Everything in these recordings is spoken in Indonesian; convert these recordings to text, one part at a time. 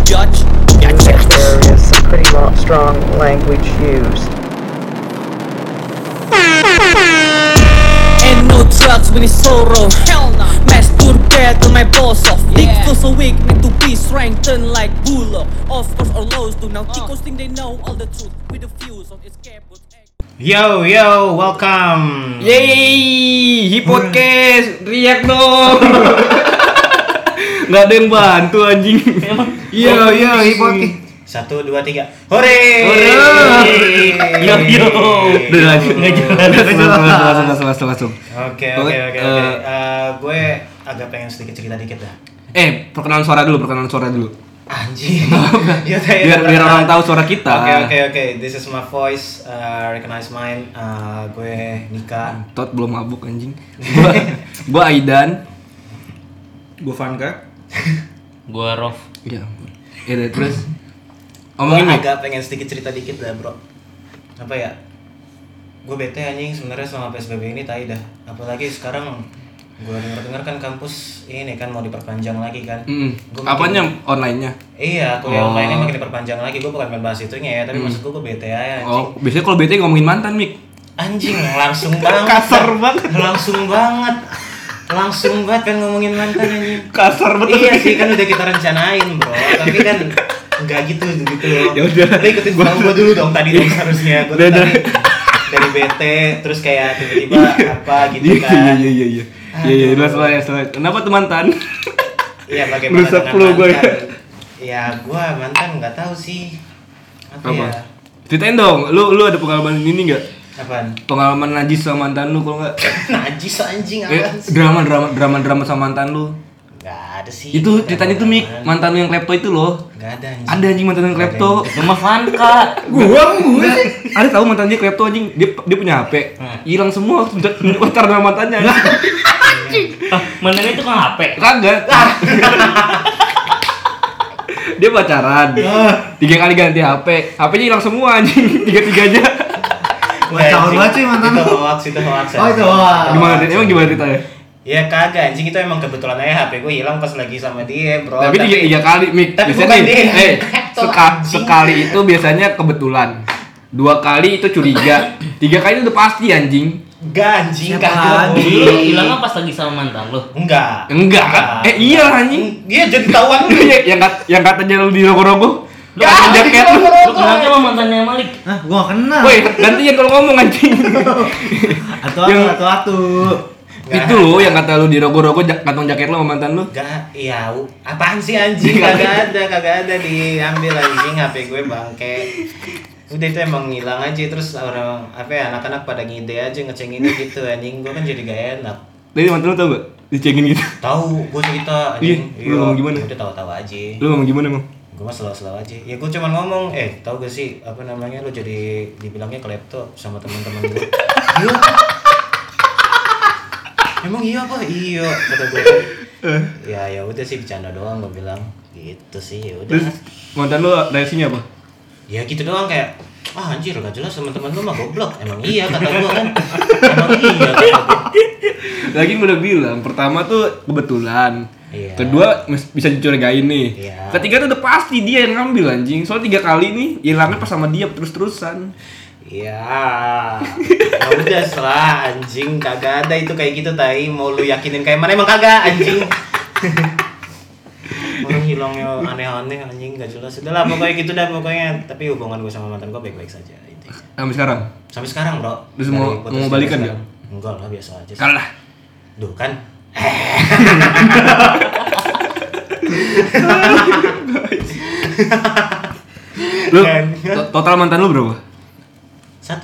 biatch. There is some pretty strong language used. Ain't no drugs when it's sorrow. Hell nah. Masturbate till my balls off. Dick feels so weak, need to be strengthened like Bullock. Of course our laws do now. Chicos think they know all the truth with the views on escape. Yo, welcome. Yeay, Hipodcast, riak dong. Nggak ada yang bantu anjing. Yo, 1, Hipodcast. 2, 3. Hore. Yo. Udah lanjut. Langsung. Oke. Gue agak pengen sedikit cerita dikit dah. Perkenalan suara dulu. Anjing. Biar orang tahu suara kita. Oke. This is my voice. Recognize mine. Gue Nika. Tot belum mabuk anjing. Gua Aidan. Gue Vanka. Gua Rof. Iya. Terus Gue omongin agak pengen sedikit cerita dikit dah, bro. Apa ya? Gue bete anjing sebenarnya selama PSBB ini tai dah. Apalagi sekarang gue dengar kan kampus ini kan mau diperpanjang lagi kan. Apanya online-nya? Iya, kuliah online-nya makin diperpanjang lagi. Gue bukan main bahas itunya ya, tapi maksud gue bete aja anjing. Biasanya kalau bete ngomongin mantan, Mik. Anjing, langsung banget. Kasar banget. Langsung banget kan ngomongin mantan anjing. Kasar banget. Iya sih, kan udah kita rencanain, bro. Tapi kan enggak gitu loh. Ya udah. Lu ikutin gua dulu dong tadi dong harusnya. Gua dari bete terus kayak tiba-tiba apa gitu kan. Iya. Iya, selesai. Kenapa tuh mantan? Iya, bagaimana Rusak dengan flow gue. mantan? Ya, gua mantan enggak tahu sih. Apa ya? Ceritain dong, lu ada pengalaman ini enggak? Apaan? Pengalaman najis sama mantan lu kalau enggak? Najis anjing apaan sih? Drama sama mantan lu. Enggak ada sih. Itu ceritanya tuh Mik, mantan lu yang klepto itu loh. Enggak ada anjing. Ada anjing mantan yang klepto. Rumah Vanka. Gua sih. Ada tahu mantannya klepto anjing. Dia punya HP. Hilang semua pacar sama mantannya. Mantannya itu kan HP. Kagak. Dia pacaran. 3 kali ganti HP. HP-nya hilang semua anjing. 3-3-nya. Wah, Caur banget sih mantan lu. Itu hoax. Oh, itu hoax. Gimana ceritanya? Ya kagak anjing, itu emang kebetulan aja HP gue hilang pas lagi sama dia, bro. Tapi 3 kali Mik. Tapi Biasanya bukan dia. sekali itu biasanya kebetulan. 2 kali itu curiga. 3 kali itu udah pasti anjing. Enggak anjing, Siapa kagak. lagi? Lu hilangnya pas lagi sama mantan lu? Enggak. Iya anjing. Iya jadi tahuan lu. yang katanya lu di rogo-rogo. Lu pakai jaket lu. Lu kenalnya sama mantannya Malik? Hah, gue gak kenal. Woi, gantian kalau ngomong anjing. Atu-atu. Itu loh yang kata lu di rogo-rogo kantong jaket lu sama mantan lu. Enggak, iya. Apaan sih anjing? Kagak ada diambil anjing HP gue bangke. Udah itu emang ngilang aja, terus orang anak-anak pada ngide aja ngecenginnya gitu anjing. Gue kan jadi gak enak. Tapi mantan lu tau gak? Dicengin gitu. Tahu, gue cerita anjing. Iya, lu ngomong gimana? Udah tahu-tahu aja. Lu ngomong gimana emang? Gue mah selalu aja. Ya gue cuma ngomong, tahu gak sih apa namanya lu jadi dibilangnya klepto sama teman-teman gue. Iya. Emang iya apa? Iya kata gue. Ya udah sih bercanda doang gue bilang. Gitu sih ya udah. Terus mantan lu reaksinya apa? Ya gitu doang kayak anjir gak jelas teman-teman lu mah goblok. Emang iya kata gue kan. Emang iya kata gue. Lagi gue udah bilang, pertama tuh kebetulan. Iya. Kedua bisa dicurigain nih. Iya. Ketiga tuh udah pasti dia yang ngambil anjing. Soalnya 3 kali nih hilangnya pas sama dia terus-terusan. Ya udah setelah anjing kagak ada itu kayak gitu tai. Mau lu yakinin kayak mana emang kagak anjing. Orang hilangnya aneh-aneh anjing gak jelas. Udah lah pokoknya gitu dah pokoknya. Tapi hubungan gue sama mantan gue baik-baik saja itu. Sampai sekarang. Sampai sekarang, bro. Terus Dari mau putus balikan sampai nggak? sekarang. Enggak lah biasa aja. Kalah. Duh kan. Lu total mantan lu berapa? 1.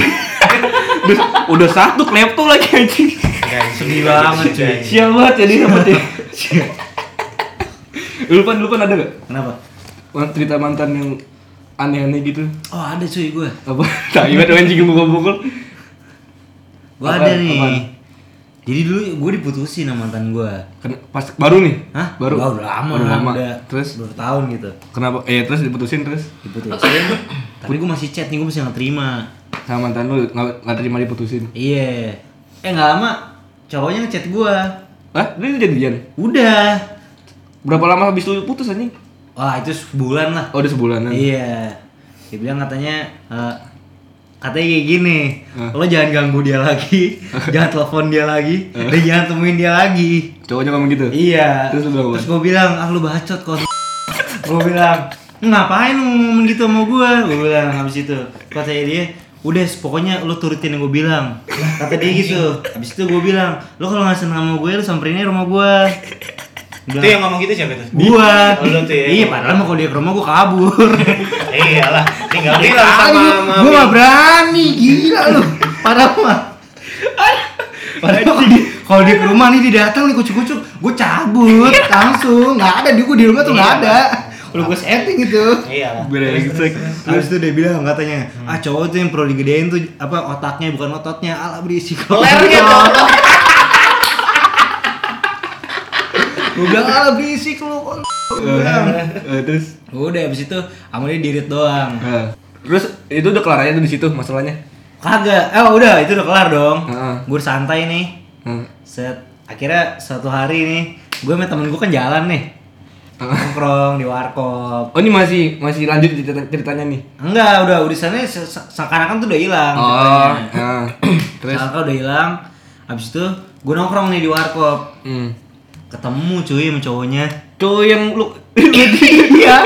Udah 1 klepto lagi anjing. Sedih banget cuy. Sial banget jadi apa sih? Lu pan ada gak? Kenapa? Cerita mantan yang aneh-aneh gitu. Oh, ada cuy gue. Apa? Tak ibarat anjing bukul-bukul. Gue ada nih. Apaan? Jadi dulu gue diputusin sama mantan gue. Pas baru nih? Hah? Baru? Udah lama. Udah Terus? berapa tahun gitu. Kenapa? Terus diputusin terus? Diputusin. Tapi gue masih chat nih, gue masih gak terima. Sama mantan lu nggak terima diputusin? Iya. Gak lama cowoknya ngechat gue. Hah? Lu jadian? Udah. Berapa lama habis lu putus anjing? Wah itu sebulan lah. Oh, udah sebulanan. Iya. Dia bilang katanya kayak gini, lo jangan ganggu dia lagi, jangan telepon dia lagi, dan jangan temuin dia lagi. Cowoknya ngomong gitu? Iya. Terus gue bilang, lu bacot kok. Gue bilang, ngapain lu ngomong gitu sama gue? Gue bilang habis itu, katanya dia, udah pokoknya lu turutin yang gue bilang. Kata dia gitu. Habis itu gue bilang, lu kalau nggak senang sama gue, lu samperin rumah gue. Itu yang ngomong gitu siapa itu? Gua. Oh, lu tuh ya. Iya, padahal mau kalau dia ke rumah gua kabur. Iyalah, tinggal bilang sama mami. Gua gak berani, gila lu. Padahal mah. Padahal kalau dia ke rumah nih dia datang nih kucuk-kucuk, gua cabut langsung. Enggak ada di rumah tuh enggak ada. Kalau gua setting gitu. Iyalah. Brengsek. Habis itu dia bilang katanya, cowok tuh yang perlu digedein tuh apa otaknya bukan ototnya. Alah berisik. Lernya dong. Gue bilang alah berisik lu. Terus Udah abis itu sama dia dirit doang. terus itu udah kelar aja tuh di situ masalahnya. Kagak. Udah itu udah kelar dong. Heeh. Gue santai nih. Akhirnya suatu hari nih, gue sama temen gue kan jalan nih. Nongkrong di warkop. Oh, ini masih lanjut ceritanya nih. Enggak, udah sana seakan-akan tuh udah hilang. Oh. Terus Seakan udah hilang. Abis itu gue nongkrong nih di warkop. Ketemu cuy sama cowoknya. cowok yang lu Iya.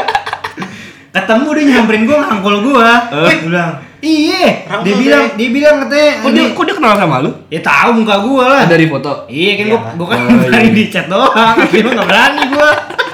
Ketemu dia nyamperin gue ngangkul gue. Dia bilang, "Iya." Dia bilang katanya, kok dia kenal sama lu? ya tahu muka gue lah. Dari foto. Iya kan Iya. gue kan Oh, berani iya. di chat doang. Akhirnya enggak berani gue.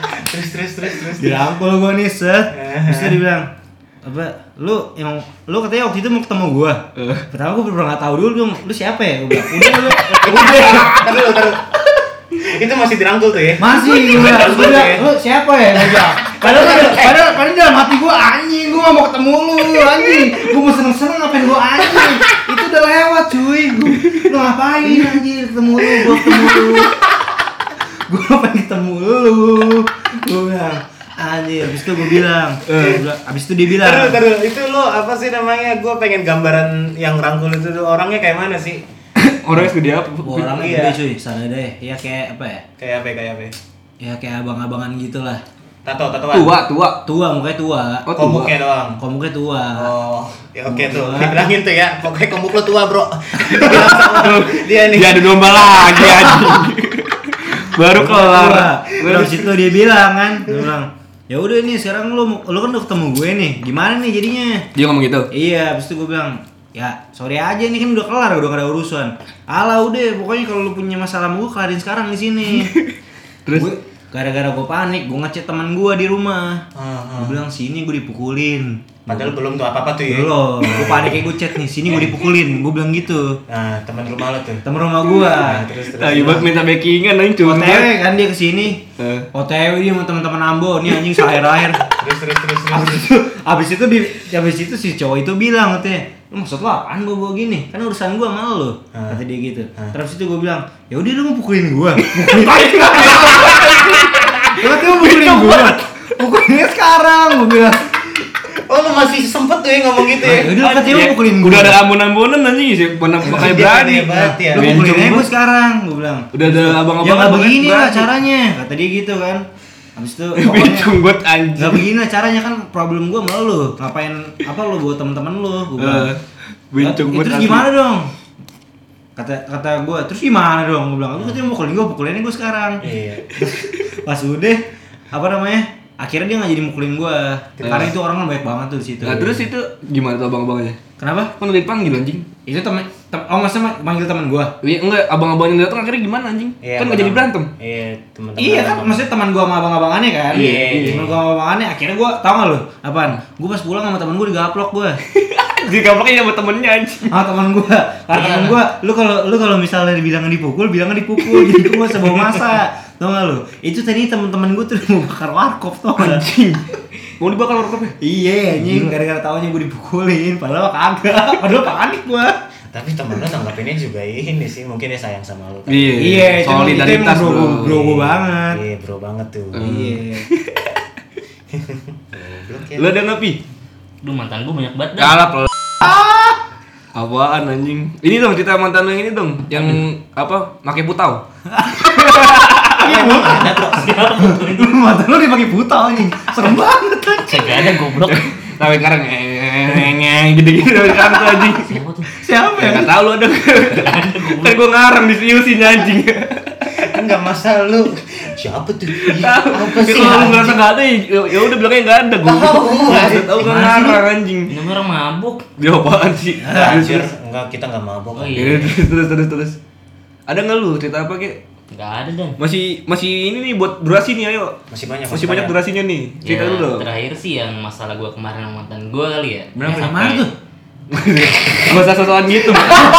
Terus. Dirangkul gue nih set. Terus dia bilang, "Apa lu katanya waktu itu mau ketemu gue?" Pertama gue pernah enggak tahu dulu lu siapa ya? Gue bilang, "Udah." Taruh. Itu masih dirangkul tuh ya? Masih gue bilang, "Lu siapa ya?" Gue bilang. Padahal dalam hati gue anjing, gue gak mau ketemu lu anjing. Gue mau seneng-seneng ngapain gue anjing. Itu udah lewat cuy. Lu ngapain anjing ketemu lu, gue ketemu lu. Gue ngapain ketemu lu. Gue bilang, anjir, abis itu gue bilang. Abis itu dia bilang. Taruh. Itu lo apa sih namanya? Gue pengen gambaran yang rangkul itu tuh orangnya kayak mana sih? Orangnya segede apa? Orangnya Iya. gede cuy, sana deh. Ya kayak apa ya? Kayak apa? Ya kayak abang-abangan gitu lah. Tatoan. Tua. Mukanya tua. Oh, tua. Komuknya doang. Komuknya tua. Oh, ya oke tuh. Tua. Dibilangin tuh ya, pokoknya komuk lo tua, Bro. Dibilang sama dia nih. Dia ada domba lagi anjing. Baru kelar. Terus itu dia bilang kan, dia bilang, "Ya udah nih sekarang lu kan udah ketemu gue nih. Gimana nih jadinya?" Dia ngomong gitu. Iya, habis itu gue bilang, "Ya, sorry aja nih kan udah kelar, udah gak ada urusan." "Alah udah, pokoknya kalau lu punya masalah sama gue kelarin sekarang di sini." Terus Gara-gara gue panik, gue ngechat teman gue di rumah. Gue bilang, "Sini gue dipukulin." Padahal belum tuh apa-apa tuh ya. Belum, gue panik kayak gue chat nih, "Sini gue dipukulin." Gue bilang gitu. Nah, teman rumah lo tuh. Temen rumah gue. Terus. Ibat minta backingan anjing cuma. OTW kan dia kesini. OTW dia sama teman-teman Ambo, nih anjing akhir-akhir. Terus. Abis itu si cowok itu bilang katanya, "Lu maksud lu apaan bawa gini? Kan urusan gua sama lu." Kata dia gitu. Terus itu gua bilang, "Ya udah lu mau pukulin gua." Lu tuh pukulin gua. Pukulinnya sekarang gua bilang. Oh, lo masih sempet tuh ya ngomong gitu ya. Ya udah katanya lu pukulin gua. Udah ada ambon-ambonan anjing sih, pernah pakai berani. Hebat ya. Lu pukulinnya gua sekarang, gua bilang. Udah ada abang-abang. Ya nggak begini lah caranya, kata dia gitu kan. Habis itu pokoknya Cunggut anjing. nggak begini lah caranya kan problem gua sama lu. Ngapain apa lu buat teman-teman lu? Gua bilang. Terus gimana dong? Kata gue, terus gimana dong? Gue bilang, "Lu katanya mau pukulinnya gue sekarang." Iya. Pas udah, apa namanya? Akhirnya dia nggak jadi mukulin gue, karena itu orang kan baik banget tuh di situ. Nah, terus itu gimana tuh abang-abangnya? Kenapa? Kan udah dipanggil anjing. Itu maksudnya manggil teman gue. Iya enggak, abang-abang yang datang akhirnya gimana anjing? Iya, Kan enggak jadi berantem. Iya, teman-teman. Iya kan, maksudnya teman gue sama abang-abangannya kan. Iya. Teman gue sama abang-abangannya, akhirnya gue tau gak lu? Apaan? Gue pas pulang sama teman gue digaplok gue. Digaploknya sama temennya anjing. Ah teman gue, karena teman gue, lu kalau misalnya bilangnya dipukul, jadi gue gak usah bawa masa, tau gak lu? Itu tadi teman-teman gue tuh mau bakar warkop tau gak? Anjing. Mau dibakar warkopnya? Iya anjing, gara-gara taunya gue dipukulin, padahal kagak, padahal panik gue. Tapi temen lo nanggapinnya juga ini sih, mungkin dia sayang sama lo. Iya, solidaritas itu bro. emang bro gue banget. Iya, bro banget tuh. Iya. Goblok ya. Lu ada napi? Duh, mantan gue banyak banget dah. Galak lo. Apaan anjing? Ini dong cerita mantan lo yang ini dong, yang apa? Make putau. dibagi buta. Ada bro. Mantan lu dibagi buta anjing. Serem banget anjing. Kagak ada goblok. Sampai sekarang ngeng gitu-gitu sampai sekarang tuh anjing. Siapa tuh? Siapa Ya ya? enggak tahu lu ada. Kan gua ngarang di siusin anjing. Enggak masalah lu. Siapa tuh? Apa Ya sih? kalau lu ngerasa enggak ada ya udah bilangnya enggak ada gua. Tahu enggak ngarang anjing. Ini orang mabuk. Dia apaan sih? Anjir, enggak kita enggak mabok. Oh iya. Terus. Ada enggak lu cerita apa kek? Enggak ada dan. Masih ini nih buat durasi nih ayo. Masih banyak. Masih banyak durasinya nih. Cerita Ya, dulu dong. terakhir sih yang masalah gua kemarin sama mantan gua kali ya. Berapa? Sampai- Mana tuh? Enggak usah sosokan gitu.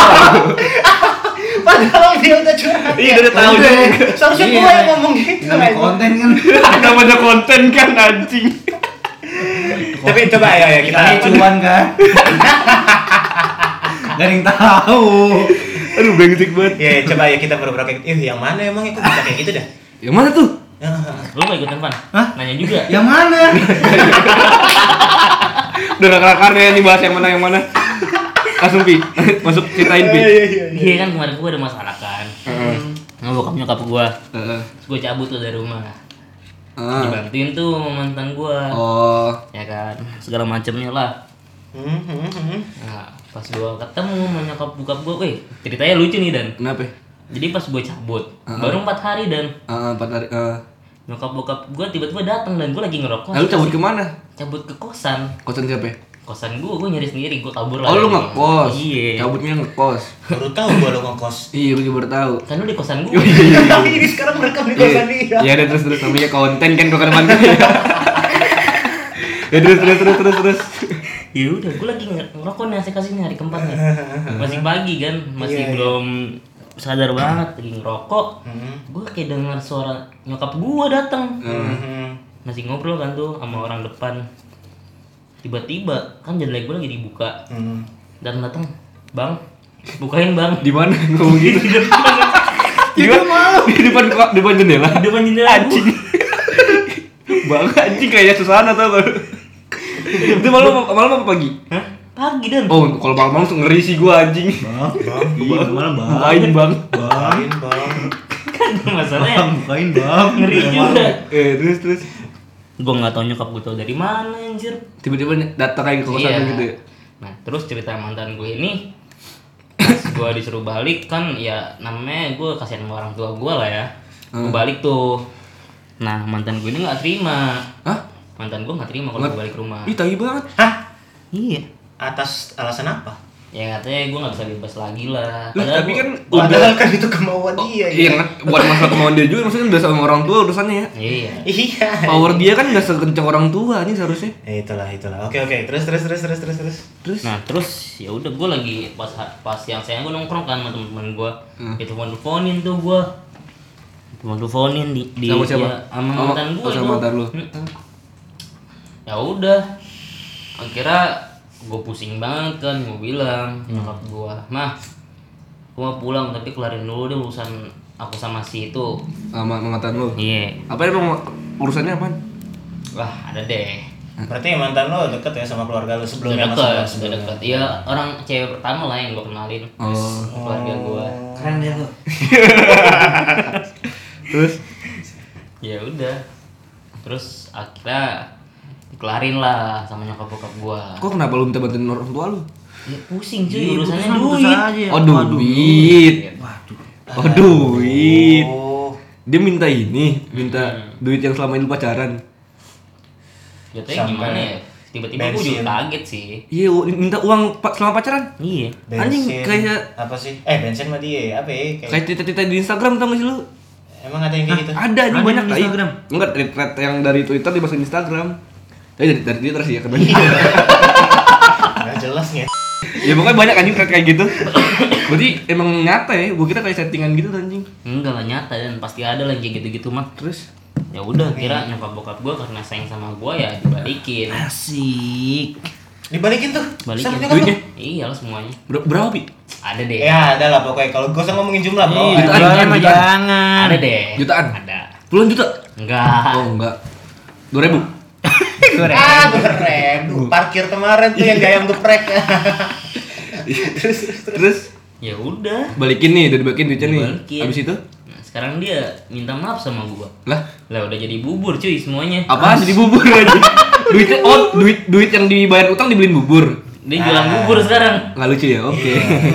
Padahal dia udah curhat. Iya udah tahu Udah. deh. Seharusnya Iya. gue yang ngomong gitu. Namanya konten kan. Namanya konten kan anjing. Tapi coba ya kita Kita cuan kan. Gak ada yang tahu. Aduh brengsek banget. ya coba ya kita pura-pura kayak yang mana emang itu bisa kayak gitu dah. Yang mana tuh? Lu mau ikutan Pan? Hah? Nanya juga. Yang mana? Udah gak kelar-kelarnya nih bahas yang mana. Langsung Pi, masuk ceritain Pi. Iya kan kemarin gua ada masalah kan. Sama bokap nyokap gua. Heeh. Terus gua cabut tuh dari rumah. Ah. Dibantuin tuh sama mantan gua. Oh. Ya kan, segala macemnya lah. Nah, pas gua ketemu sama nyokap bokap gua, ceritanya lucu nih Dan. Kenapa? Jadi pas gua cabut, baru 4 hari Dan. 4 hari. Nyokap bokap gua tiba-tiba datang dan gua lagi ngerokok. Lalu cabut kemana? Cabut ke kosan. Kosan siapa? Kosan gua nyari sendiri, gua kabur lah. Oh lu dari rumah. ngekos. Iya. Cabutnya ngekos. Baru tahu gua lo ngekos. Iya, gue juga baru tahu. Kan lu di kosan gua. Ini sekarang merekam di kosan dia. Iya, ada terus namanya konten kan kok depan gue. Ya terus. Ya udah, gue lagi ngerokok nih asik-asik nih hari keempat nih. Masih pagi kan, masih Iya, iya. belum sadar banget lagi ngerokok. Gue kayak dengar suara nyokap gue datang. Masih ngobrol kan tuh sama orang depan. Tiba-tiba kan jendela gue lagi dibuka. Dan datang, "Bang, bukain Bang." Di mana ngomong gitu? Di depan jendela. Di depan jendela Anjing. Bang anjing kayak susana tau gak? Itu malam apa pagi? Hah? Pagi Dan. Oh, kalau malam langsung ngeri sih gua anjing. Iya, mana bang? Bukain bang. Bukain bang. Kan masalahnya Bukain bang. ngeri juga. Terus. Gue nggak tahu nyokap gue tau dari mana anjir. Tiba-tiba datang lagi ke kosan Iya. gitu ya. Nah terus cerita mantan gue ini, pas gue disuruh balik kan ya namanya gue kasihan sama orang tua gue lah ya. Gue balik tuh. Nah mantan gue ini nggak terima. Hah? Mantan gue nggak terima kalau gue balik rumah. Ih, tai banget. Hah? Iya. Atas alasan apa? Ya katanya gue nggak bisa bebas lagi lah. Lah, tapi kan Padahal kan itu kemauan dia. iya, buat masalah kemauan dia juga maksudnya udah sama orang tua urusannya ya. Iya. Iya. Power dia kan enggak sekencang orang tua nih seharusnya. Itulah. Oke. Terus. Terus Nah terus ya udah gue lagi pas yang saya gue nongkrong kan sama teman-teman gue. Itu teleponin tuh gue. Teleponin di Sama siapa? ya, sama Oh, mantan gue. sama mantan lu. Ya udah. Akhirnya gue pusing banget kan, gue bilang nyokap gue, "Mah, gue mau pulang tapi kelarin dulu deh urusan aku sama si itu." sama mantan lu. Iya. Apa emang urusannya apaan? Wah ada deh. Berarti mantan lo deket ya sama keluarga lo sebelumnya Sudah sebelumnya. dekat. Iya orang cewek pertama lah yang gue kenalin. Oh. Keluarga gue. Keren dia tuh. Terus Ya udah. Terus akhirnya dikelarin lah sama nyokap bokap gue. kok kenapa lu minta bantuin orang tua lu? Ya pusing cuy Iya, urusannya putus duit. aja. Oh, duit. Waduh. Oh, duit. Oh. Dia minta duit yang selama ini pacaran. Jatuhnya Sampai gimana ya? Tiba-tiba gue juga bensin. kaget sih. Iya, minta uang selama pacaran. Iya. Anjing, kayak apa sih? Bensin mah dia apa ya? kayak tita-tita di Instagram tau gak sih lu? Emang ada yang kayak gitu? Ada nih Ada banyak di tai. Instagram. Enggak, thread yang dari Twitter dimasukin Instagram. Tapi dari Twitter sih ya kan. Nggak jelas nih. Ya pokoknya banyak anjing thread kayak gitu. Berarti emang nyata ya, gua kira kayak settingan gitu anjing. Enggak lah nyata dan pasti ada lah yang kayak gitu-gitu mah. Terus Ya udah kira nyokap bokap gue karena sayang sama gue ya dibalikin. Asik. Dibalikin tuh. Balikin. Sama nyokap duitnya lu. Iya lah semuanya. berapa Pi? Ada deh. Ya ada lah pokoknya kalau gue usah ngomongin jumlah bro. Iya, Jutaan, Jualan mah jutaan. jangan. Ada deh. Jutaan? Ada. Puluhan juta? Enggak. Oh enggak. 2.000. Ah 2.000. Parkir kemarin tuh yang gayam geprek. Terus Ya udah. balikin nih, udah dibalikin duitnya nih. Dibalikin. Habis itu? Nah, Sekarang dia minta maaf sama gua. Lah Udah jadi bubur cuy semuanya. apaan jadi bubur aja? Duitnya duit yang dibayar utang dibeliin bubur. Dia jualan bubur sekarang. Nggak lucu ya? Oke.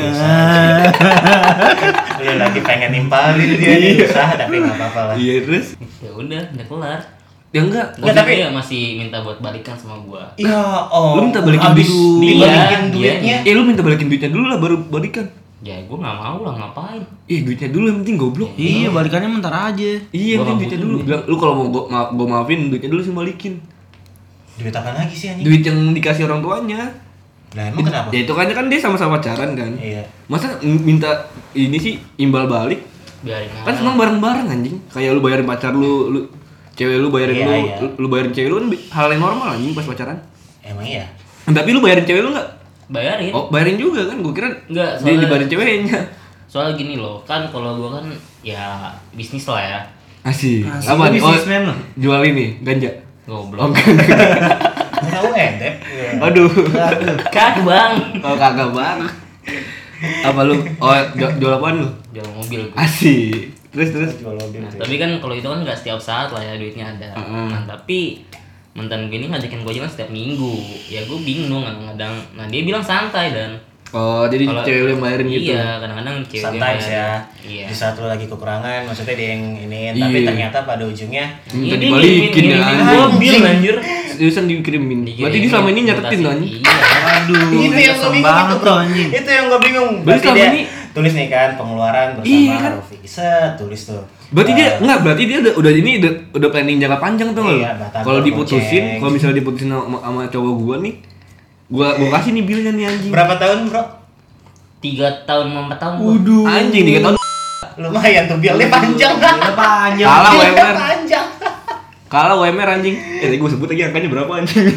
Lu lagi pengen nimpalin dia nih usaha tapi nggak apa-apa lah. Iya terus? Ya udah kelar. Ya enggak. Tapi tapi- dia masih minta buat balikan sama gua. Ya oh. Lu minta balikin habis dulu. dibalikin Iya, duitnya. iya. Lu minta balikin duitnya dulu lah baru balikan. Ya gua nggak mau lah ngapain. Duitnya dulu yang penting goblok. Iya, balikannya bentar aja. Iya, Gua penting nggak duitnya butuh dulu. duit. Bilang lu kalau mau gua maafin duitnya dulu sih balikin. Duit apa lagi sih anjing? Duit yang dikasih orang tuanya. Lah emang kenapa? Ya itu kan dia sama-sama pacaran kan. Iya. Masa minta ini sih imbal balik? Biarin Kan aja. senang bareng-bareng anjing. Kayak lu bayarin pacar lu cewek lu bayarin Iya, lu, iya. lu bayarin cewek lu kan hal yang normal anjing pas pacaran. Emang iya. Tapi lu bayarin cewek lu enggak? Bayarin. Oh, bayarin juga kan? Gua kira Enggak, dia soalnya- dibayarin ceweknya. Soalnya gini loh, kan kalau gua kan ya bisnis lah ya. Asik. Asik, Apa lu nih? businessman lu. Jual ini ganja. Goblok. Tahu endep. Aduh. Kagak bang. Oh kagak banget. Apa lu? Oh jual apaan lu? Jual mobil gua. Asik. Terus. Jual mobil Nah, tuh. tapi kan kalau itu kan nggak setiap saat lah ya duitnya ada. Heeh. Nah tapi mantan gue ini ngajakin gue jalan setiap minggu. Ya gue bingung kadang-kadang. Nah dia bilang santai dan Oh, jadi kalau- cewek lu yang bayarin gitu. Iya kadang-kadang cewek dia Sometimes bayarin. ya. Iya. Di saat lu lagi kekurangan, maksudnya dia yang iniin, tapi Iya. ternyata pada ujungnya Minta Iya, dia dibalikin ya. ngirimin anjing. mobil anjir. Seriusan dikirimin. Berarti dia selama ini nyatetin Mutasi. kan? Iya. Aduh, itu yang gue kesel bingung banget itu tuh bro. anjing. Itu yang gue bingung. Berarti Berarti selama dia ini- tulis nih kan pengeluaran bersama Iya kan? Rofi. Set, tulis tuh. Berarti dia Eh, enggak, berarti dia udah planning jangka panjang tuh Iya, enggak? batagor, Kalau diputusin, goceng. kalau misalnya diputusin sama cowok gua nih, gua kasih nih bilnya nih anjing. berapa tahun bro? 3 tahun sama 4 tahun. gua. Anjing 3 tahun. Lumayan tuh bilnya panjang. Udah panjang. Kalah Bilnya UMR. panjang. Kalah UMR anjing. Tadi gua sebut lagi angkanya berapa anjing.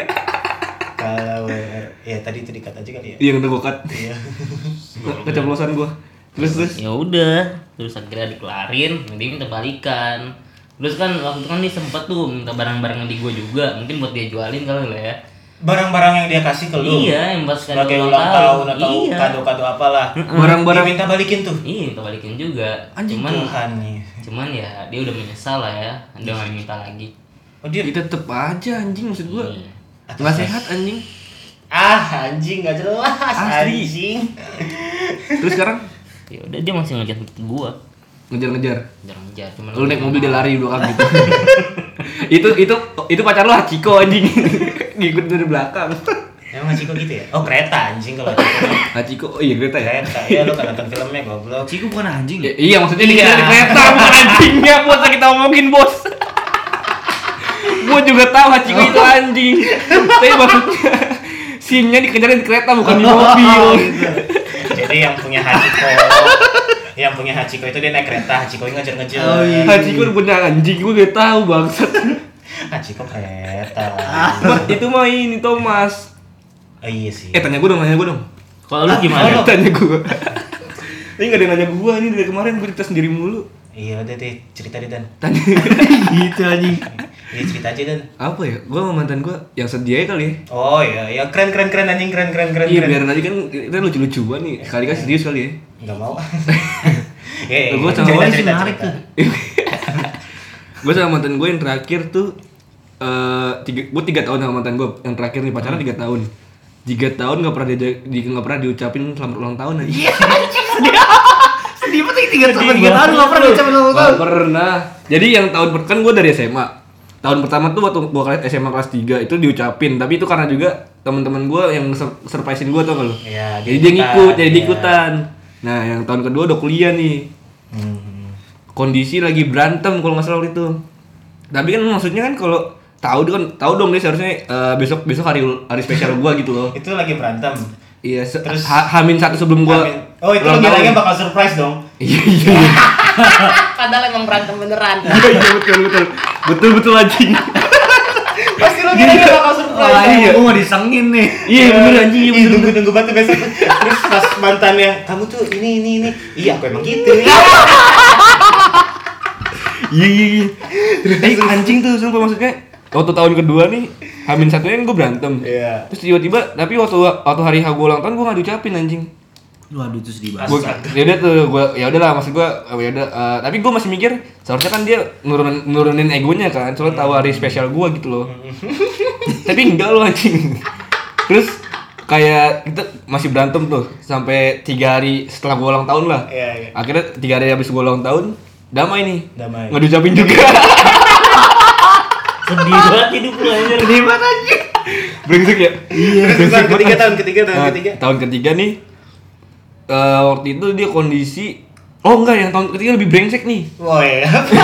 Kalau ya tadi itu dikat aja kali ya. Iya udah gua cut. Iya. Keceplosan gua. Terus. Ya udah, terus akhirnya dikelarin, dia minta balikan. Terus kan waktu itu kan dia sempat tuh minta barang-barang di gue juga, mungkin buat dia jualin kali lah ya. Barang-barang yang dia kasih ke lu. Iya, yang pas kado Sebagai ulang ulang tahun atau Iya. kado-kado apalah. Barang-barang Dia minta balikin tuh. Iya, minta balikin juga. Anjing cuman Tuhan nih. cuman ya dia udah menyesal lah ya, dia nggak minta lagi. Oh dia Ya tetep aja anjing maksud gua. Iya. Enggak sehat anjing. anjing nggak jelas Asli. anjing. Terus sekarang Ya udah dia masih ngejar gua. ngejar-ngejar. Ngejar cuman Lu naik mobil dia lari 2 kali gitu. itu pacar lu Hachiko anjing. Ngikut dari belakang. Emang Hachiko gitu ya? Oh kereta anjing kalau Hachiko. Hachiko, oh iya kereta ya. Kereta ya lu kan nonton filmnya goblok. Ciku bukan anjing. Ya, iya maksudnya Iya. dikejar di kereta bukan anjingnya bos kita omongin bos. Gua juga tahu Hachiko itu anjing. Tapi maksudnya scene-nya dikejar di kereta bukan di mobil. Jadi yang punya Hachiko itu dia naik kereta, Hachiko yang ngejar-ngejar. Oh, iya. Hachiko udah bener anjing, gua gak tahu bangsat. Hachiko kereta. Itu mah ini Thomas. Oh iya sih. Tanya gua dong. Kalau lu gimana? Tanya gua. Ini gak ada yang nanya gua, ini dari kemarin gua cerita sendiri mulu. Iya udah deh cerita deh Dan. Tanya. Gitu anjing. Iya cerita aja Dan. Apa ya? Gua sama mantan gua yang sedia kali ya. Oh iya, ya keren anjing keren. Iya biar nanti kan kita lucu-lucuan nih. Sekali kan serius kali ya. Enggak mau. Ya, Gua sama Cewek cerita, sih cerita, menarik cerita. tuh. Gue sama mantan gue yang terakhir tuh gue 3 tahun sama mantan gue yang terakhir nih pacaran 3 tahun. 3 tahun nggak pernah diucapin selamat ulang tahun aja. Sedih banget 3 tahun enggak pernah diucapin ulang tahun. Nggak pernah. Jadi yang tahun kan gue dari SMA. Tahun pertama tuh waktu gue SMA kelas 3 itu diucapin, tapi itu karena juga teman-teman gue yang surprisein gue tau gak lu? Iya, Jadi dia ngikut, jadi iya. ikutan. Nah, yang tahun kedua udah kuliah nih. Kondisi lagi berantem kalau nggak salah waktu itu. Tapi kan maksudnya kan kalau tahu dong dia seharusnya besok hari spesial gua gitu loh. Itu lagi berantem. Iya, Terus- Hamin 1 sebelum gua. Oh itu ulang lu tahun. bilangnya bakal surprise dong. Iya. Padahal emang berantem beneran. Iya betul anjing. Pasti lu bilangnya bakal surprise. Oh, iya. Gua mau disengin nih. Iya bener anjing, iya bener. Tunggu banget besok. Terus pas mantannya, kamu tuh ini. Iya aku emang gitu. Iya. Anjing tuh sumpah maksudnya. Waktu tahun kedua nih, Hamin 1-nya kan gua berantem. Iya. Terus tiba-tiba, tapi waktu hari gua ulang tahun gua nggak diucapin anjing. Waduh itu sedih banget. Gua ya udah tuh ya udahlah maksud gua ya udah tapi gua masih mikir seharusnya kan dia nurunin egonya kan soalnya tahu hari spesial gua gitu loh. Tapi enggak loh anjing. Terus kayak kita masih berantem tuh sampai 3 hari setelah gua ulang tahun lah. Iya. Akhirnya 3 hari habis gua ulang tahun damai nih. Nggak diucapin juga. Sedih banget hidup lu anjir. Sedih banget anjing. Brengsek ya? Iya. Tahun ketiga. Tahun ketiga nih. Waktu itu dia kondisi yang tahun ketiga lebih brengsek nih. Wah ya.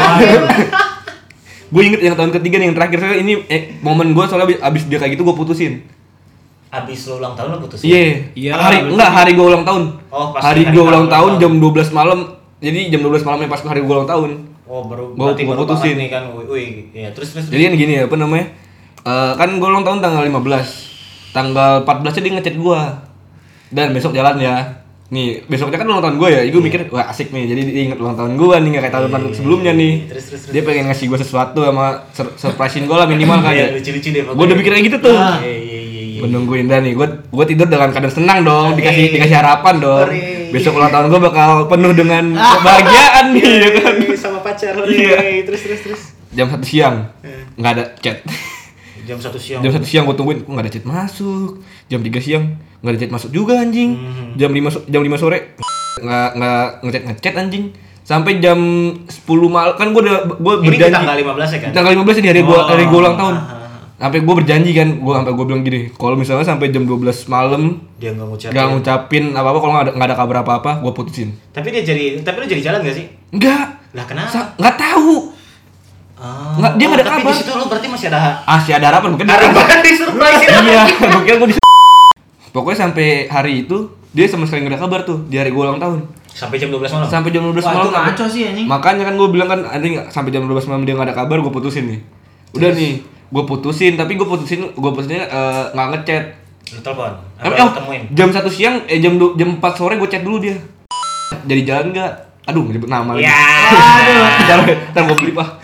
Gue inget yang tahun ketiga nih yang terakhir saya ini momen gue soalnya abis dia kayak gitu gue putusin. Abis lo ulang tahun lo putusin? Iya. Hari gue ulang tahun. Oh, pas hari gue ulang tahun jam 12 malam. Jadi jam 12 malamnya pas hari gue ulang tahun. Oh baru gue putusin nih kan. Wih, ya terus. Jadi kan gini apa namanya? Kan gue ulang tahun tanggal 15. Tanggal 14 dia ngechat gue. Dan besok jalan ya. Nih, besoknya kan ulang tahun gue ya. Gue mikir wah asik nih. Jadi dia inget ulang tahun gue nih kayak tahun-tahun sebelumnya nih. Terus. Dia pengen ngasih gue sesuatu sama surprisein gue lah minimal kan ya. Lucu-lucu deh. Gue udah mikir kayak gitu tuh. Iya. Gue nungguin dan nih gue tidur dengan keadaan senang dong, dikasih harapan dong. Besok ulang tahun gue bakal penuh dengan kebahagiaan nih ya kan. Sama pacar. Iya. Terus. Jam 1 siang nggak ada chat. Jam 1 siang. Jam 1 siang gue tungguin, kok nggak ada chat masuk. Jam 3 siang nggak ada chat masuk juga anjing. Jam 5 sore nggak ngechat anjing. Sampai jam 10 malam kan gue berjanji. Ini tanggal 15 ya kan? Tanggal 15 di hari gue ulang tahun. Sampai gue berjanji kan, gue bilang gini, kalau misalnya sampai jam 12 malam dia nggak ngucapin apa-apa, kalau nggak ada kabar apa-apa, gue putusin. Tapi lu jadi jalan nggak sih? Enggak. Lah kenapa? Nggak tahu. Nggak, dia nggak ada kabar. Tapi di situ lu berarti masih ada harapan mungkin. harapan di surprise. Iya, mungkin gue pokoknya sampai hari itu dia sama sekali nggak ada kabar tuh di hari gue ulang tahun. Sampai jam 12 malam. Sampai jam 12 malam. Itu ngaco sih anjing. Makanya kan gue bilang kan anjing sampai jam 12 malam dia nggak ada kabar, gue putusin nih. Udah nih, gue putusin tapi gue putusinnya nggak ngechat. Lu telepon. Temuin. Jam 1 siang jam 4 sore gue chat dulu dia. Jadi jalan nggak? Aduh, nyebut nama lagi. Ya. Ntar gue beli pak.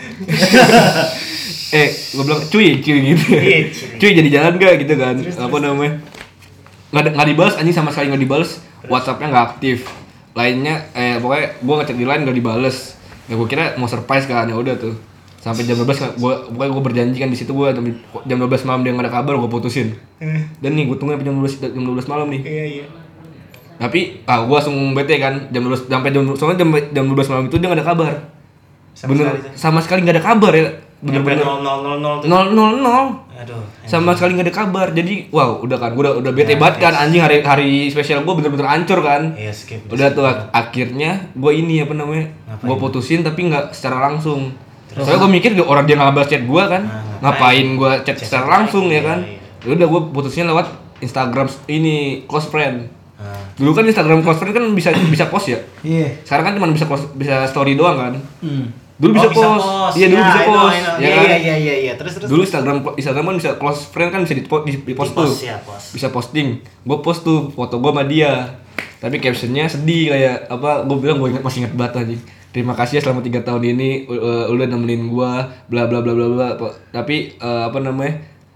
Gue bilang cuy gitu. Cuy jadi jalan nggak gitu kan? Apa namanya? Nggak dibalas anjing, sama sekali nggak dibalas. WhatsApp-nya nggak aktif. Lainnya pokoknya gue ngecek di line nggak dibales. Ya gue kira mau surprise kan, ya udah tuh. Sampai jam 12 gue berjanji kan di situ gue jam 12 malam dia nggak ada kabar, gue putusin. Dan nih gue tunggu sampai jam 12 malam nih. Iya. Tapi gue langsung bete kan jam 12 sampai jam 12 malam itu dia nggak ada kabar. Sama sekali nggak ada kabar ya. Bener-bener 000. Aduh. Sama sekali nggak ada kabar. Jadi wow udah kan gue udah bete banget kan anjing, hari spesial gue bener-bener hancur kan. Iya, skip. Udah tuh akhirnya gue ini apa namanya? Gue putusin tapi nggak secara langsung. Soalnya gue mikir orang dia nggak balas chat gue kan, ngapain gue chat secara langsung ya kan? Udah gue putusnya lewat Instagram ini close friend. Dulu kan Instagram close friend kan bisa post ya. Iya. Sekarang kan cuma bisa story doang kan. Dulu bisa post. Iya dulu bisa post. Iya. Terus. Dulu Instagram kan bisa close friend kan bisa di post tuh. Bisa posting. Gue post tuh foto gue sama dia. Tapi captionnya sedih kayak apa? Gue bilang masih inget banget aja. Terima kasih ya selama 3 tahun ini udah nemenin gua bla bla bla bla bla. Tapi apa namanya?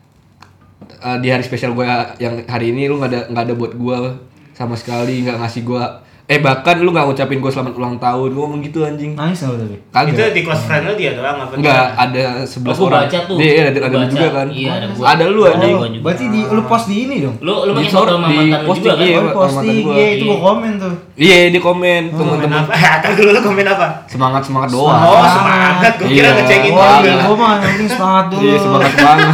Di hari spesial gua yang hari ini lu enggak ada buat gua sama sekali, enggak ngasih gua bahkan lu enggak ngucapin gua selamat ulang tahun. Gua ngomong gitu anjing. Nangis enggak tapi? Kagak. Itu di close friend lu dia doang apa? Enggak, ada 11 orang. Baca tuh. Iya, ada lu juga kan. Iya, ada gua. Ada lu anjing. Berarti lu post di ini dong. Lu pakai foto sama mantan lu juga kan? Iya, Posting. Iya, itu gua komen tuh. Iya, di komen teman-teman. Apa? Dulu lu komen apa? Semangat doang. Oh, semangat. Gua kira ngecekin Wah, juga. gua mah nanti semangat dulu. Iya, semangat banget.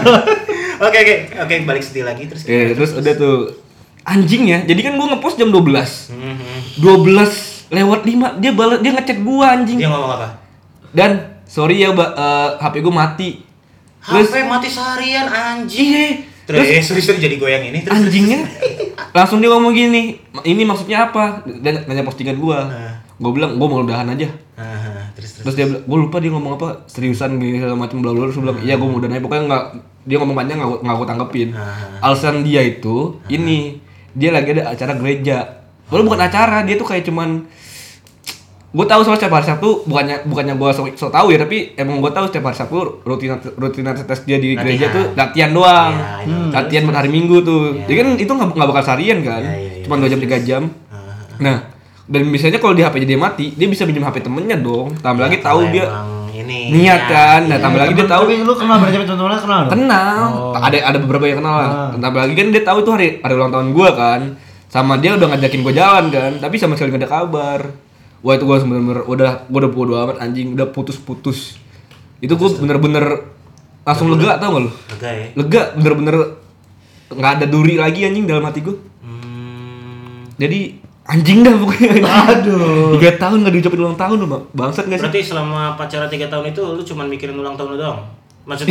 Oke, balik sedih lagi terus. Terus udah tuh anjing ya. Jadi kan gua ngepost jam 12. 12 lewat 5 dia ngechat gua anjing. Dia ngomong apa? Dan sorry ya, HP gua mati. Terus HP mati seharian anjing. iya. Terus jadi goyang ini terus. Anjingnya langsung dia ngomong gini, ini maksudnya apa? Dan nanya postingan gua. Gua bilang gua mau udahan aja. Terus dia bilang, gua lupa dia ngomong apa, seriusan gitu segala macam bla bla. Terus bilang iya gua mau udahan aja. Pokoknya dia ngomong panjang enggak gua tanggepin. Alasan dia itu ini dia lagi ada acara gereja. Padahal bukan acara, dia tuh kayak cuman gue tahu soal setiap hari Sabtu bukannya gue so tahu ya, tapi emang gue tahu setiap hari Sabtu rutinitas dia di gereja tuh latihan doang. Latihan buat hari Minggu tuh. Jadi kan itu nggak bakal seharian kan, cuma 2 jam 3 jam. Nah, dan biasanya kalau di HP dia mati, dia bisa pinjam HP temennya dong. Tambah lagi tahu Kalau dia emang ini niat ya, kan. Nah, iya. tambah lagi dia tahu Tapi lu kenal berarti teman-temannya kenal dong? kenal. Oh. Ada beberapa yang kenal lah. Tambah lagi kan dia tahu itu hari ulang tahun gua kan. Sama dia udah ngajakin gua jalan kan, tapi sama sekali gak ada kabar. Wah, itu gua bener-bener gua udah bodo amat anjing, udah putus-putus. Itu gua bener-bener langsung lega, tau gak lu? Lega ya. Lega, bener-bener nggak ada duri lagi anjing dalam hati gua. Jadi anjing dah pokoknya. Aduh. 3 tahun gak diucapin ulang tahun lu, bangsat gak sih? Berarti selama pacaran 3 tahun itu lu cuma mikirin ulang tahun lu doang? Maksudnya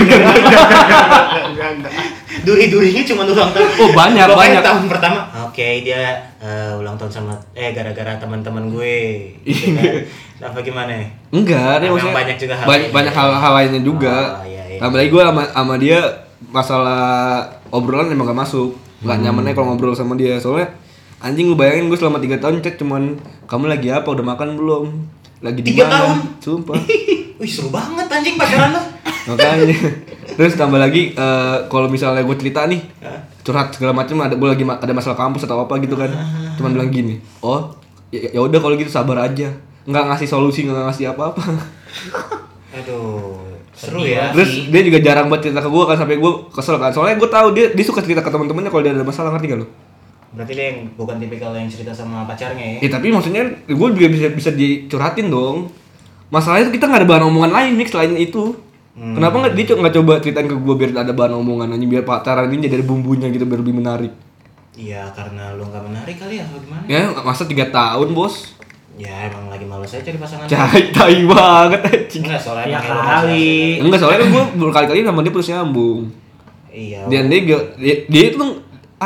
duri-durinya cuma ulang tahun. Oh, banyak. Tahun pertama. Oke, dia ulang tahun sama gara-gara teman-teman gue. Gitu kan. Apa gimana? Enggak, dia Memang maksudnya banyak juga hal banyak lainnya. hal lainnya juga. Oh, iya. Tambah lagi gue sama dia masalah obrolan emang gak masuk. Gak nyamannya kalau ngobrol sama dia. Soalnya anjing lu bayangin gue selama 3 tahun chat cuman kamu lagi apa, udah makan belum? Lagi di 3 mana? tahun? Sumpah. Wih, seru banget anjing pacaran lu. Makanya. Terus tambah lagi kalau misalnya gue cerita nih, curhat segala macam, gue lagi ada masalah kampus atau apa gitu kan. Cuman bilang gini, "Oh, ya udah kalau gitu sabar aja." Nggak ngasih solusi, nggak ngasih apa-apa. Aduh, seru Sedih ya. banget. Terus dia juga jarang buat cerita ke gue kan, sampai gue kesel kan. Soalnya gue tahu dia suka cerita ke teman-temannya kalau dia ada masalah, ngerti gak lu? Berarti dia yang bukan tipikal yang cerita sama pacarnya ya. Tapi maksudnya gue juga bisa dicurhatin dong. Masalahnya itu kita nggak ada bahan omongan lain nih selain itu. Kenapa nggak dia nggak coba ceritain ke gue biar ada bahan omongan aja, biar pacaran ini jadi ada bumbunya gitu biar lebih menarik. Iya, karena lu nggak menarik kali ya, atau gimana? Ya masa 3 tahun bos? Ya emang lagi malas aja cari pasangan. Tai banget anjing. Enggak, soalnya Ya emang lu kali. Enggak, soalnya kan gue berkali-kali sama dia putus nyambung. Iya. Dan dia itu tuh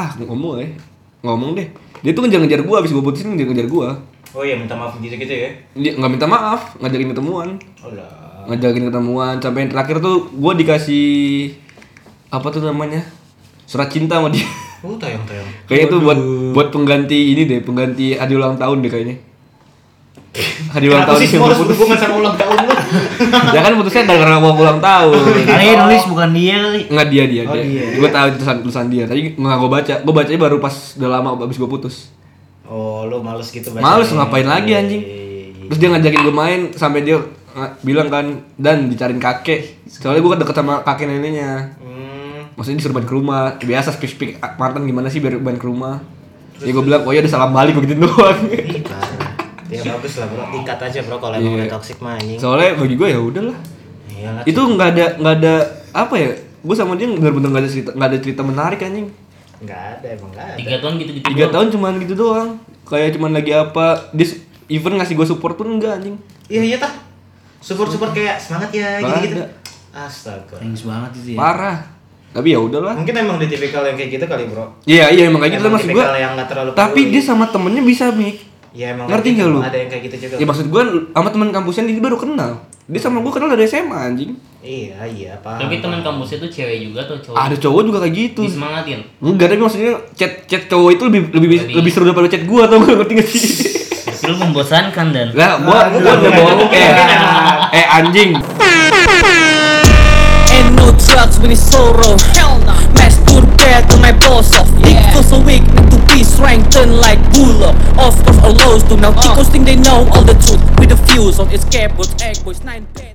ngomong deh. Dia tuh ngejar-ngejar gue, abis gue putusin ngejar-ngejar gue. Oh iya, minta maaf gitu-gitu ya. Dia nggak minta maaf, ngajakin ketemuan. Alah. Ngajakin ketemuan sampai yang terakhir tuh gue dikasih apa tuh namanya, surat cinta sama dia. Tayang. Kayaknya itu buat pengganti ini deh, pengganti hadiah ulang tahun deh kayaknya. Hadiah ulang tahun sih yang semua harus putus. berhubungan sama ulang tahun lu? Ya kan putusnya gara-gara mau ulang tahun. Kali nulis bukan dia kali. Enggak dia. Oh, dia. Gue tahu itu tulisan dia. Tadi nggak gue baca. Gue bacanya baru pas udah lama abis gue putus. Oh, lu males gitu baca. Males ngapain lagi anjing. Terus dia ngajakin gue main sampai dia bilang kan, dan dicariin kakek. Soalnya gue deket sama kakek neneknya. Maksudnya disuruh main ke rumah. Biasa speak mantan gimana sih biar main ke rumah. Ya gue bilang, "Oh ya udah salam balik," begitu doang. Ya bagus lah bro, dikat aja bro kalau emang udah toxic mah anjing. Soalnya bagi gue ya udahlah. Iyalah. Itu nggak ada apa ya? Gue sama dia bener-bener nggak ada cerita menarik anjing. Enggak ada, emang enggak ada. 3 tahun gitu-gitu 3 doang. tahun cuman gitu doang. Kayak cuman lagi apa? Dia even ngasih gue support pun enggak anjing. Iya tah. Support kayak semangat ya Nggak gitu-gitu. ada. Astaga. Thanks banget itu ya. Parah. Tapi ya udahlah. Mungkin emang dia tipikal yang kayak gitu kali bro. Iya emang kayak gitu Emang maksud gue. tipikal yang nggak terlalu Tapi peduli. dia sama temennya bisa Mik. Ya emang Ngerti kayak nggak gitu. lu? Ada yang kayak gitu juga. Ya maksud gue sama teman kampusnya dia baru kenal. Dia sama gue kenal dari SMA anjing. Iya paham. Tapi teman kampusnya tuh cewek juga atau cowok? Ada cowok juga kayak gitu. Disemangatin. Enggak, tapi maksudnya chat cowok itu lebih seru daripada chat gue atau ngerti nggak sih? Tapi lu membosankan dan. Lah, gua udah bawa anjing. Ain't no drugs when it's sorrow. Hell no. Masturbate on my balls off. Dick feels so weak, need to be strengthened like bull. Of course, all lows do now. Chicos think they know all the truth with the fuse on escape boys, egg boys, 9 pairs.